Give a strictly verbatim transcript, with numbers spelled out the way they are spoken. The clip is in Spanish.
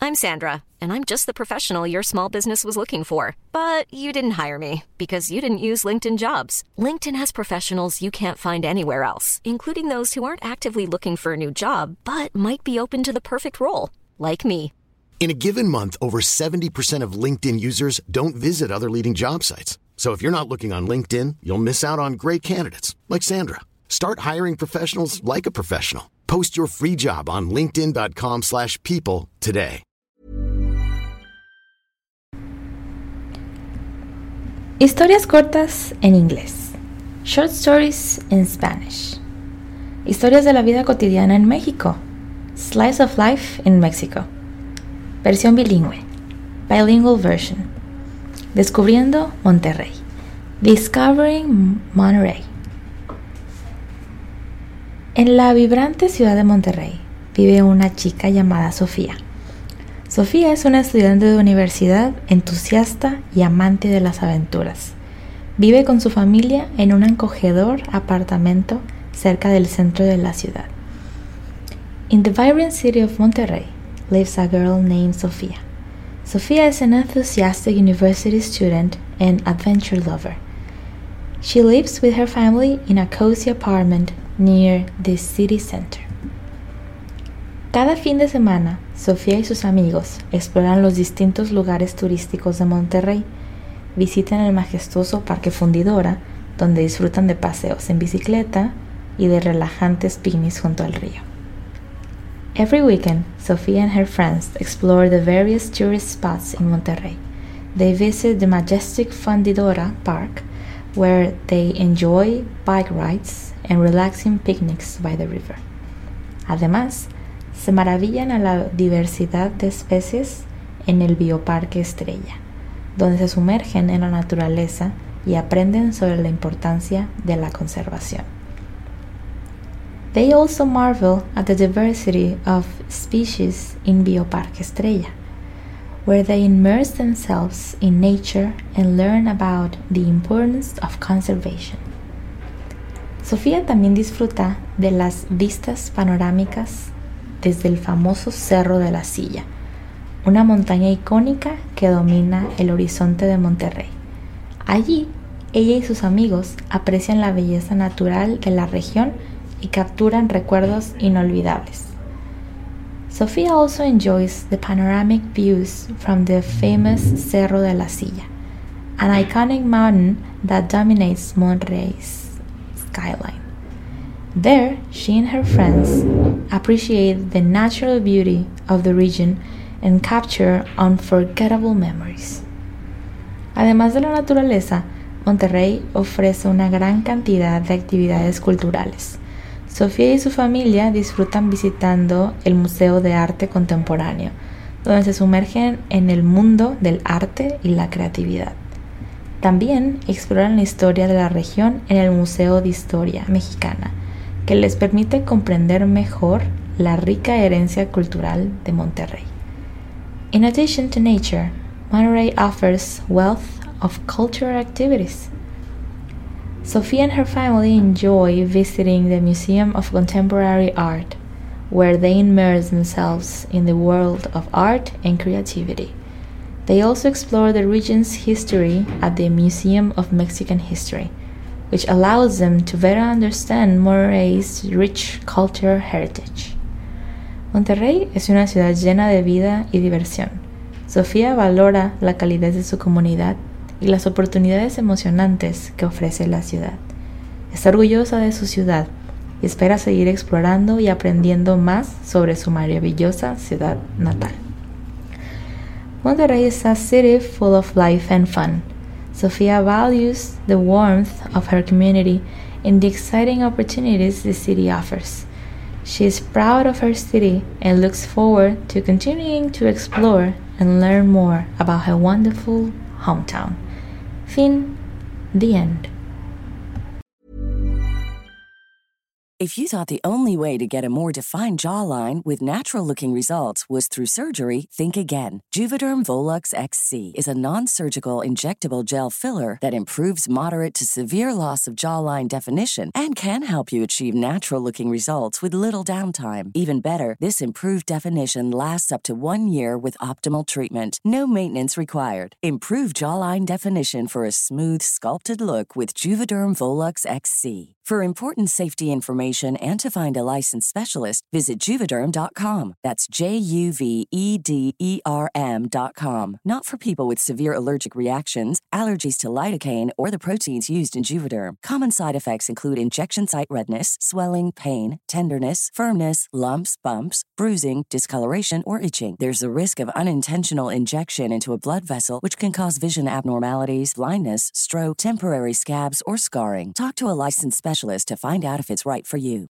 I'm Sandra, and I'm just the professional your small business was looking for. But you didn't hire me because you didn't use LinkedIn Jobs. LinkedIn has professionals you can't find anywhere else, including those who aren't actively looking for a new job, but might be open to the perfect role, like me. In a given month, over seventy percent of LinkedIn users don't visit other leading job sites. So if you're not looking on LinkedIn, you'll miss out on great candidates like Sandra. Start hiring professionals like a professional. Post your free job on linkedin dot com slash people today. Historias cortas en inglés. Short stories in Spanish. Historias de la vida cotidiana en México. Slice of life in Mexico. Versión bilingüe. Bilingual version. Descubriendo Monterrey. Discovering Monterrey. En la vibrante ciudad de Monterrey vive una chica llamada Sofía. Sofía es una estudiante de universidad, entusiasta y amante de las aventuras. Vive con su familia en un acogedor apartamento cerca del centro de la ciudad. In the vibrant city of Monterrey lives a girl named Sofía. Sofía is an enthusiastic university student and adventure lover. She lives with her family in a cozy apartment near the city center. Cada fin de semana, Sofía y sus amigos exploran los distintos lugares turísticos de Monterrey, visitan el majestuoso Parque Fundidora, donde disfrutan de paseos en bicicleta y de relajantes picnics junto al río. Every weekend, Sofía and her friends explore the various tourist spots in Monterrey. They visit the majestic Fundidora Park, where they enjoy bike rides and relaxing picnics by the river. Además, se maravillan a la diversidad de especies en el Bioparque Estrella, donde se sumergen en la naturaleza y aprenden sobre la importancia de la conservación. They also marvel at the diversity of species in Bioparque Estrella, where they immerse themselves in nature and learn about the importance of conservation. Sofía también disfruta de las vistas panorámicas desde el famoso Cerro de la Silla, una montaña icónica que domina el horizonte de Monterrey. Allí, ella y sus amigos aprecian la belleza natural de la región y capturan recuerdos inolvidables. Sofía also enjoys the panoramic views from the famous Cerro de la Silla, an iconic mountain that dominates Monterrey's skyline. There, she and her friends appreciate the natural beauty of the region and capture unforgettable memories. Además de la naturaleza, Monterrey ofrece una gran cantidad de actividades culturales. Sofía y su familia disfrutan visitando el Museo de Arte Contemporáneo, donde se sumergen en el mundo del arte y la creatividad. También exploran la historia de la región en el Museo de Historia Mexicana, que les permite comprender mejor la rica herencia cultural de Monterrey. In addition to nature, Monterrey offers wealth of cultural activities. Sofía and her family enjoy visiting the Museum of Contemporary Art, where they immerse themselves in the world of art and creativity. They also explore the region's history at the Museum of Mexican History, which allows them to better understand Monterrey's rich cultural heritage. Monterrey es una ciudad llena de vida y diversión. Sofía valora la calidez de su comunidad y las oportunidades emocionantes que ofrece la ciudad. Está orgullosa de su ciudad y espera seguir explorando y aprendiendo más sobre su maravillosa ciudad natal. Monterrey is a city full of life and fun. Sofía values the warmth of her community and the exciting opportunities the city offers. She is proud of her city and looks forward to continuing to explore and learn more about her wonderful hometown. Fin. The end. If you thought the only way to get a more defined jawline with natural-looking results was through surgery, think again. Juvederm Volux X C is a non-surgical injectable gel filler that improves moderate to severe loss of jawline definition and can help you achieve natural-looking results with little downtime. Even better, this improved definition lasts up to one year with optimal treatment. No maintenance required. Improve jawline definition for a smooth, sculpted look with Juvederm Volux X C. For important safety information and to find a licensed specialist, visit Juvederm dot com. That's J U V E D E R M dot com. Not for people with severe allergic reactions, allergies to lidocaine, or the proteins used in Juvederm. Common side effects include injection site redness, swelling, pain, tenderness, firmness, lumps, bumps, bruising, discoloration, or itching. There's a risk of unintentional injection into a blood vessel, which can cause vision abnormalities, blindness, stroke, temporary scabs, or scarring. Talk to a licensed specialist to find out if it's right for you.